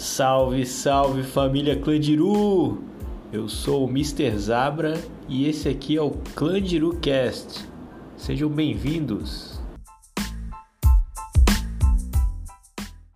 Salve, salve família Clandiru! Eu sou o Mr. Zabra e esse aqui é o Clandiru Cast. Sejam bem-vindos!